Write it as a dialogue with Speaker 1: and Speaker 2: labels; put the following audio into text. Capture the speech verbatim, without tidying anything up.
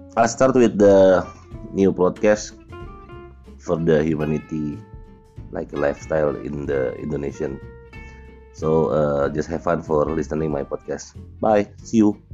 Speaker 1: I'll start with the new podcast for the humanity, like a lifestyle in the Indonesian. So uh, just have fun for listening my podcast. Bye. See you.